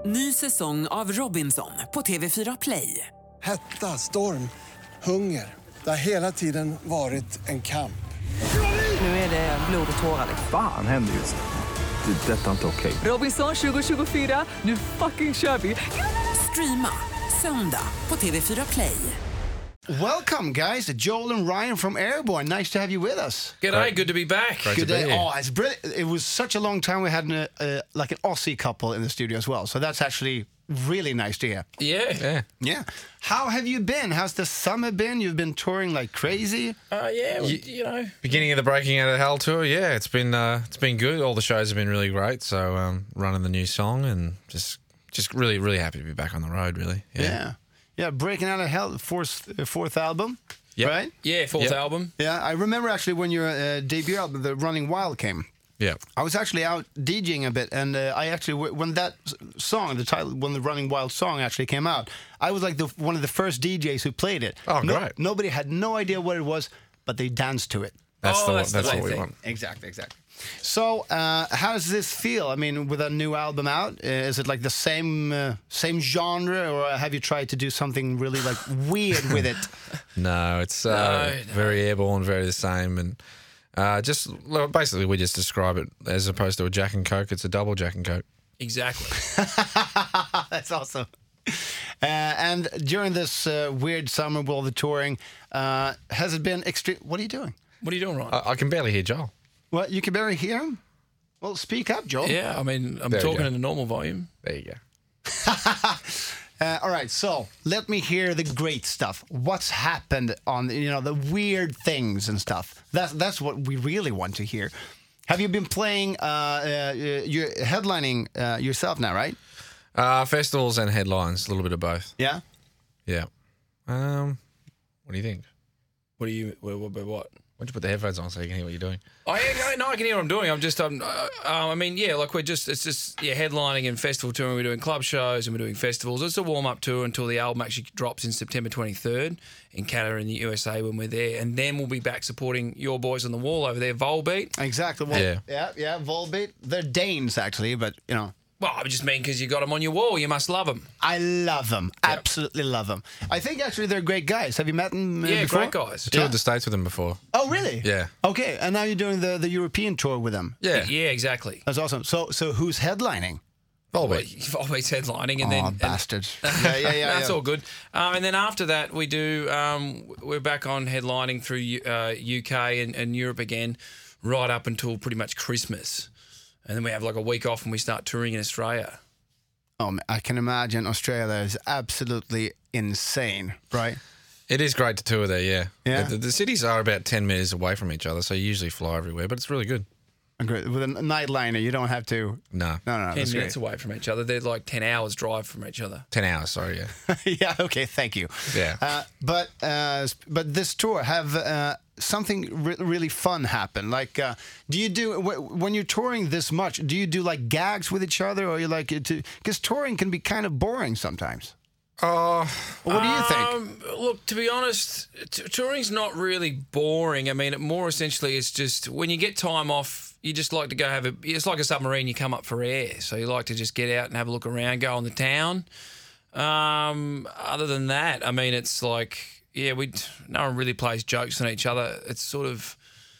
Ny säsong av Robinson på TV4 Play. Hetta, storm, hunger. Det har hela tiden varit en kamp. Nu är det blod och tårar. Fan händer just nu. Det. Detta är inte okej. Robinson 2024, nu fucking kör vi. Streama söndag på TV4 Play. Welcome, guys. Joel and Ryan from Airborne. Nice to have you with us. G'day, good to be back. Good day. Oh, it's brilliant. It was such a long time we had like an Aussie couple in the studio as well. So that's actually really nice to hear. Yeah. How have you been? How's the summer been? You've been touring like crazy. You know. Beginning of the Breaking Out of Hell tour, yeah, it's been good. All the shows have been really great. So running the new song and just really, really happy to be back on the road, really. Yeah. Breaking Out of Hell, fourth album, Yep. right? Yeah, fourth Yep. album. Yeah, I remember actually when your debut album, The Running Wild, came. Yeah. I was actually out DJing a bit, and I actually, when that song, the title, when the Running Wild song actually came out, I was like one of the first DJs who played it. Oh, great. Nobody had no idea what it was, but they danced to it. That's that's what the we thing. want. Exactly. So, how does this feel? I mean, with a new album out, is it like the same genre, or have you tried to do something really like weird with it? No, it's very airborne, very the same, and basically we just describe it as opposed to a Jack and Coke. It's a double Jack and Coke. Exactly. That's awesome. And during this weird summer with all the touring, has it been extreme? What are you doing? What are you doing, Ryan? I can barely hear Joel. What, you can barely hear him? Well, speak up, Joel. Yeah, I mean, I'm There you talking go. in a normal volume. There you go. All right, so let me hear the great stuff. What's happened on the weird things and stuff. That's what we really want to hear. Have you been playing? You're headlining yourself now, right? Festivals and headlines, a little bit of both. Yeah. Yeah. What do you think? What? Why don't you put the headphones on so you can hear what you're doing? Oh, yeah, no, I can hear what I'm doing. It's just headlining and festival touring. We're doing club shows and we're doing festivals. It's a warm-up tour until the album actually drops in September 23rd in Canada and the USA when we're there. And then we'll be back supporting your boys on the wall over there, Volbeat. Exactly. Yeah. Yeah. Volbeat. They're Danes, actually, but Well, I just mean because you got them on your wall. You must love them. I love them. Absolutely love them. I think actually they're great guys. Have you met them before? Great guys. Toured the States with them before. Oh, really? Yeah. Okay, and now you're doing the European tour with them. Yeah. Yeah, exactly. That's awesome. So who's headlining? Volbeat. Volbeat's headlining, and Oh, then bastards. Yeah. That's all good. And then after that, we do. We're back on headlining through UK and Europe again, right up until pretty much Christmas, and then we have like a week off and we start touring in Australia. I can imagine Australia is absolutely insane, right? It is great to tour there, yeah. Yeah. The cities are about 10 minutes away from each other, so you usually fly everywhere, but it's really good. Great. With a nightliner, you don't have to. No. No. 10 That's minutes great. away from each other. They're like 10 hours drive from each other. 10 hours, sorry, yeah. Yeah. Okay. Thank you. Yeah. But this tour have something really fun happen. Like, do you do when you're touring this much? Do you do like gags with each other, or you like it to? Because touring can be kind of boring sometimes. What do you think? Look, to be honest, touring's not really boring. I mean, it more essentially is just when you get time off, you just like to go it's like a submarine, you come up for air. So you like to just get out and have a look around, go on the town. Other than that, I mean, it's like, no one really plays jokes on each other. It's sort of,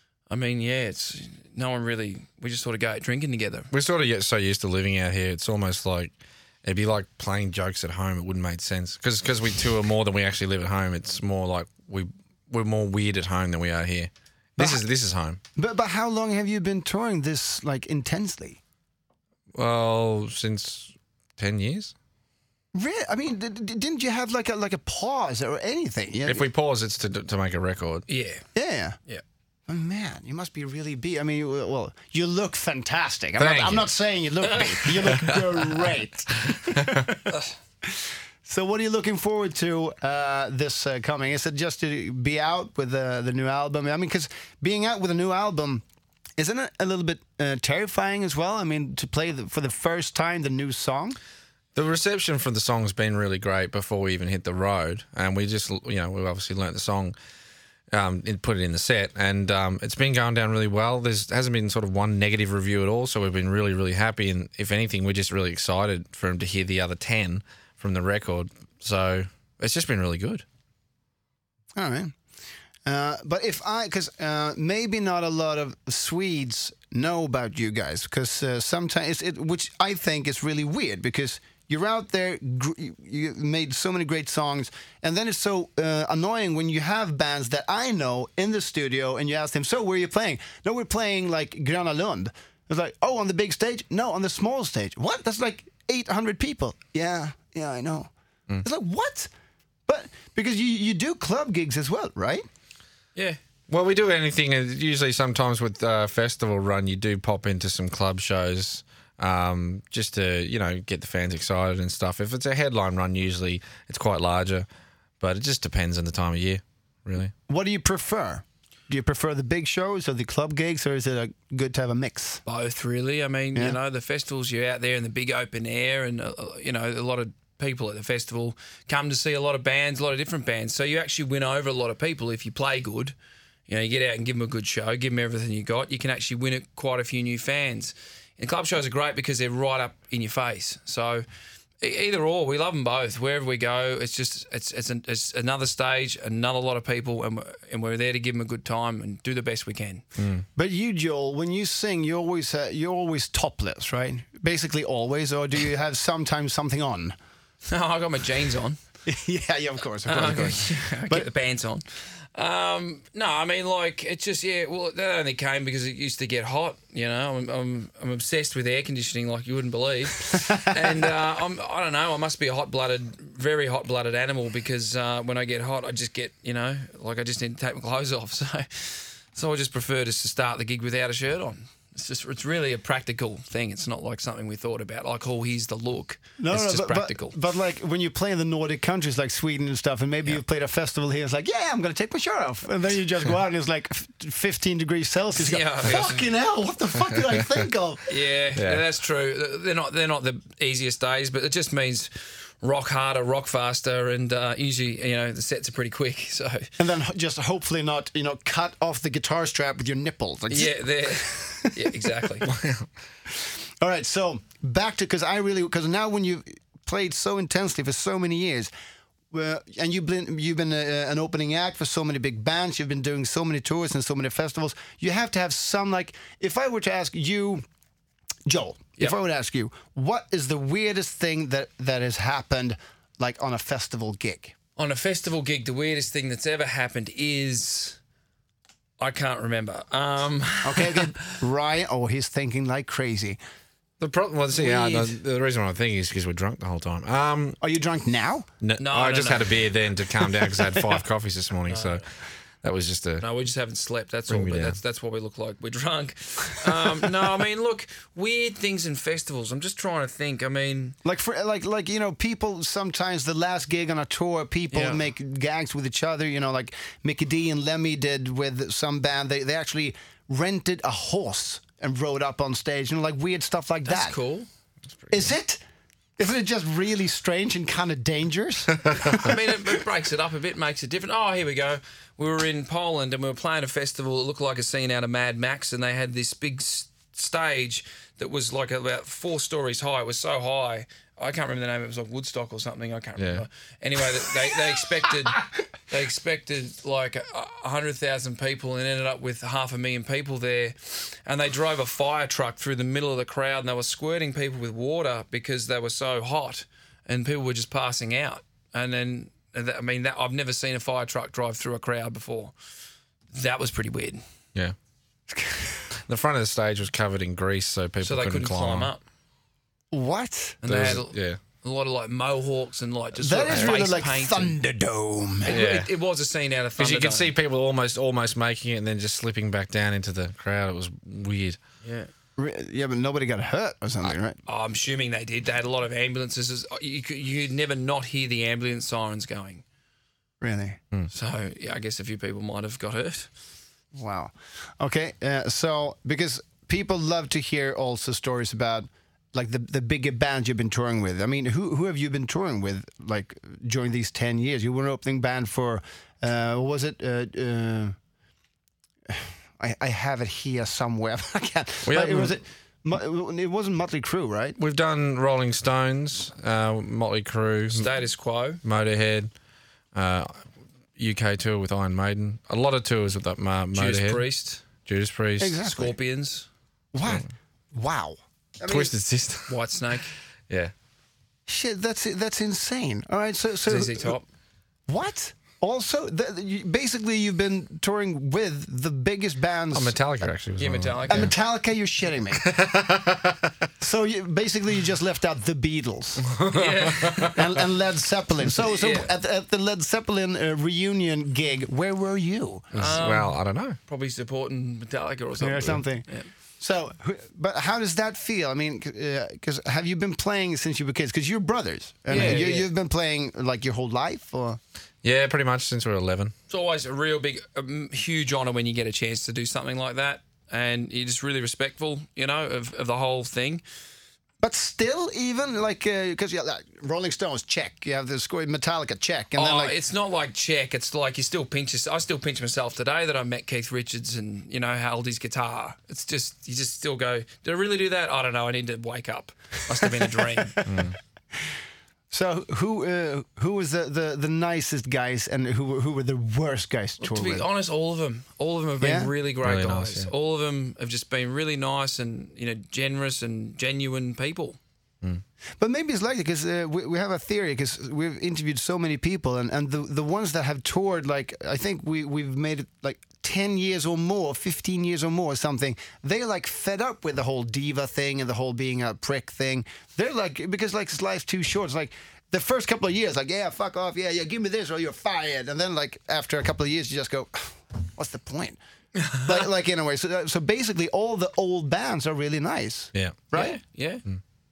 it's no one really, we just sort of go out drinking together. We're sort of get so used to living out here, it's almost like, it'd be like playing jokes at home. It wouldn't make sense. Because we tour more than we actually live at home, it's more like we're more weird at home than we are here. This is home. But how long have you been touring this like intensely? Well, since 10 years. Really? I mean, didn't you have like a pause or anything? Yeah. If we pause, it's to make a record. Yeah. Yeah. Oh, man, you must be really beat. I mean, well, you look fantastic. I'm not saying you look beat. You look great. So what are you looking forward to this coming? Is it just to be out with the new album? I mean, because being out with a new album, isn't it a little bit terrifying as well? I mean, to play for the first time the new song? The reception for the song's been really great before we even hit the road. And we just, we've obviously learnt the song and put it in the set, and it's been going down really well. Hasn't been sort of one negative review at all, so we've been really, really happy. And if anything, we're just really excited for him to hear the other 10 from the record. So it's just been really good. All right. But because maybe not a lot of Swedes know about you guys, because sometimes which I think is really weird, because you're out there, you made so many great songs, and then it's so annoying when you have bands that I know in the studio, and you ask them, so where are you playing? No, we're playing like Gröna Lund. It's like, oh, on the big stage? No, on the small stage. What? That's like 800 people. Yeah, I know. It's like, what? But because you do club gigs as well, right? Yeah. Well, we do anything. Usually, sometimes with festival run, you do pop into some club shows just to, get the fans excited and stuff. If it's a headline run, usually it's quite larger, but it just depends on the time of year, really. What do you prefer? Do you prefer the big shows or the club gigs, or is it good to have a mix? Both, really. I mean, the festivals, you're out there in the big open air, and, a lot of people at the festival come to see a lot of bands, a lot of different bands. So you actually win over a lot of people if you play good. You get out and give them a good show, give them everything you got. You can actually win it quite a few new fans. And club shows are great because they're right up in your face. So either or, we love them both. Wherever we go, it's just it's another stage, another lot of people, and we're there to give them a good time and do the best we can. But you, Joel, when you sing, you're always topless, right? Basically always, or do you have sometimes something on? No, I got my jeans on. yeah, of course. I get the pants on. No, I mean, like, it's just, well, that only came because it used to get hot, I'm obsessed with air conditioning like you wouldn't believe. And I don't know, I must be a very hot-blooded animal, because when I get hot, I just get, I just need to take my clothes off. So I just prefer just to start the gig without a shirt on. It's really a practical thing. It's not like something we thought about, like, oh, here's the look. It's just practical. But like when you play in the Nordic countries like Sweden and stuff, and maybe you've played a festival here, it's like, I'm going to take my shirt off. And then you just go out and it's like 15 degrees Celsius. You go, fucking hell, what the fuck did I think of? Yeah, that's true. They're not the easiest days, but it just means rock harder, rock faster, and usually, the sets are pretty quick. So, and then just hopefully not, cut off the guitar strap with your nipples. Like, yeah, exactly. All right, so back to, because now when you played so intensely for so many years, and you've been an opening act for so many big bands, you've been doing so many tours and so many festivals, you have to have some, like, if I were to ask you, Joel, if I would ask you, what is the weirdest thing that has happened, like, on a festival gig? On a festival gig, the weirdest thing that's ever happened is... I can't remember. Okay. Ryan, he's thinking like crazy. The problem, the reason why I'm thinking is because we're drunk the whole time. Are you drunk now? No, I just had a beer then to calm down because I had 5 coffees this morning, so... That was just No, we just haven't slept. That's all. But that's what we look like. We're drunk. No, I mean, look, weird things in festivals. I'm just trying to think. I mean, people sometimes the last gig on a tour, people make gags with each other. Like Mickey D and Lemmy did with some band. They actually rented a horse and rode up on stage. Like weird stuff like that. That's cool. Is it? Isn't it just really strange and kind of dangerous? I mean, it breaks it up a bit, makes it different. Oh, here we go. We were in Poland and we were playing a festival that looked like a scene out of Mad Max, and they had this big stage that was like about 4 stories high. It was so high. I can't remember the name. It was like Woodstock or something. I can't remember. Anyway, they expected like 100,000 people and ended up with 500,000 people there. And they drove a fire truck through the middle of the crowd, and they were squirting people with water because they were so hot, and people were just passing out. And then, I've never seen a fire truck drive through a crowd before. That was pretty weird. Yeah. The front of the stage was covered in grease, so people couldn't climb up. What? And they had a lot of like mohawks and like just that sort of is really face like painting. Thunderdome. It was a scene out of Thunderdome. Because you could see people almost making it and then just slipping back down into the crowd. It was weird. Yeah. Yeah, but nobody got hurt or something, right? I'm assuming they did. They had a lot of ambulances. You could never not hear the ambulance sirens going. Really? So, yeah, I guess a few people might have got hurt. Wow. Okay, so because people love to hear also stories about like the bigger bands you've been touring with? I mean, who have you been touring with like during these 10 years? You were an opening band for what was it? I have it here somewhere. I can't. It wasn't Motley Crue, right? We've done Rolling Stones, Motley Crue, Status Quo, Motorhead, UK tour with Iron Maiden. A lot of tours with that Motorhead. Judas Priest. Exactly. Scorpions. What? Wow. I mean, Twisted Sister. Whitesnake. Yeah. shit, that's insane. All right, so ZZ Top. What? Also, basically, you've been touring with the biggest bands. Oh, Metallica actually was Yeah, one of them. Metallica. And Metallica, you're shitting me. So basically, you just left out the Beatles and Led Zeppelin. So at the Led Zeppelin reunion gig, where were you? Well, I don't know. Probably supporting Metallica or something. Or something. Yeah. So, but how does that feel? I mean, because have you been playing since you were kids? Because you're brothers. And Yeah, you've been playing like your whole life, or? Yeah, pretty much since we were 11. It's always a real big, huge honour when you get a chance to do something like that. And you're just really respectful, you know, of the whole thing. But still, even like, because like Rolling Stones, check. You have the score, Metallica, check. And then like, it's not like check. It's like you still pinch yourself. I still pinch myself today that I met Keith Richards and, you know, held his guitar. It's just, you just still go, did I really do that? I don't know. I need to wake up. Must have been a dream. So who was the nicest guys and who were the worst guys to tour To be with? honest, all of them have been really great Really guys. nice, yeah. All of them have just been really nice and, you know, generous and genuine people. But maybe it's like that because we have a theory because we've interviewed so many people and the ones that have toured, like I think we've made it like 10 years or more, 15 years or more or something, they're like fed up with the whole diva thing and the whole being a prick thing. They're like, because like life's too short, it's like the first couple of years, like, yeah, fuck off, yeah, give me this or you're fired. And then like after a couple of years, you just go, what's the point? like in a way. So basically all the old bands are really nice. Yeah. Right? Yeah.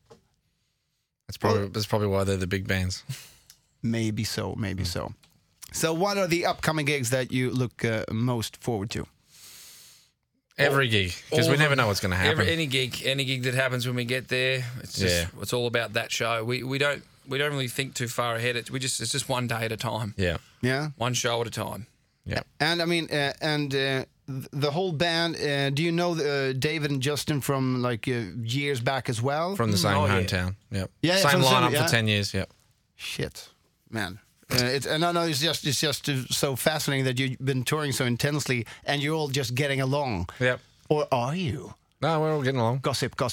That's probably why they're the big bands. Maybe so. So what are the upcoming gigs that you look most forward to? Every gig, because we never know what's going to happen. Any gig that happens when we get there, it's just it's all about that show. We don't really think too far ahead. It's just one day at a time. Yeah. Yeah. One show at a time. Yeah. And I mean, the whole band, do you know David and Justin from like years back as well? From the same Oh, yeah. hometown. Yep. Yeah, Same from the same- lineup yeah. for 10 years. Yep. Shit, man. It's just so fascinating that you've been touring so intensely and you're all just getting along. Yep. Or are you? No, we're all getting along. Gossip. No,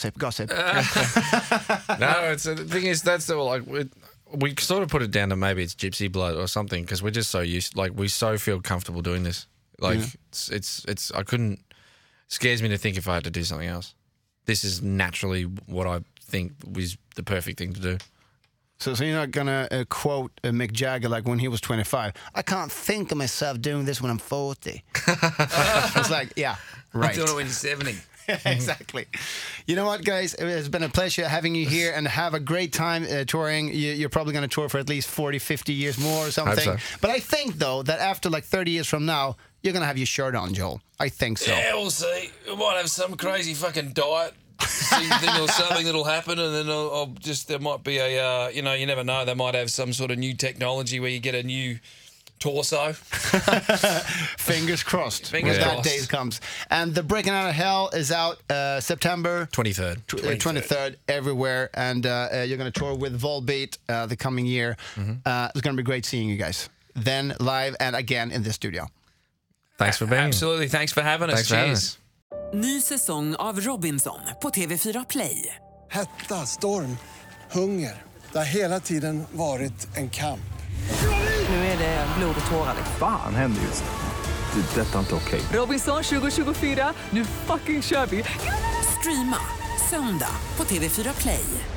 it's the thing is that's the like we sort of put it down to maybe it's gypsy blood or something because we're just so used, like we so feel comfortable doing this. Like it's I couldn't. Scares me to think if I had to do something else. This is naturally what I think was the perfect thing to do. So you're not gonna quote Mick Jagger like when he was 25. I can't think of myself doing this when I'm 40. It's like, yeah, right. I'm doing it when you're 70. Exactly. You know what, guys? It's been a pleasure having you here and have a great time touring. You're probably going to tour for at least 40, 50 years more or something. Hope so. But I think, though, that after like 30 years from now, you're going to have your shirt on, Joel. I think so. Yeah, we'll see. We might have some crazy fucking diet thing or something that'll happen, and then I'll just there might be a you know, you never know. They might have some sort of new technology where you get a new torso. Fingers crossed. Fingers when that crossed. day comes. And the Breaking Out of Hell is out September 23rd. 23rd everywhere, and you're going to tour with Volbeat the coming year. It's going to be great seeing you guys then live and again in the studio. Thanks for being here. Absolutely. Thanks for having us. Thanks for having Cheers. us. Ny säsong av Robinson på TV4 Play. Hetta, storm, hunger. Det har hela tiden varit en kamp. Nu är det blod och tårar. Fan händer just det. Det är detta inte okej. Robinson 2024, nu fucking kör vi! Streama söndag på TV4 Play.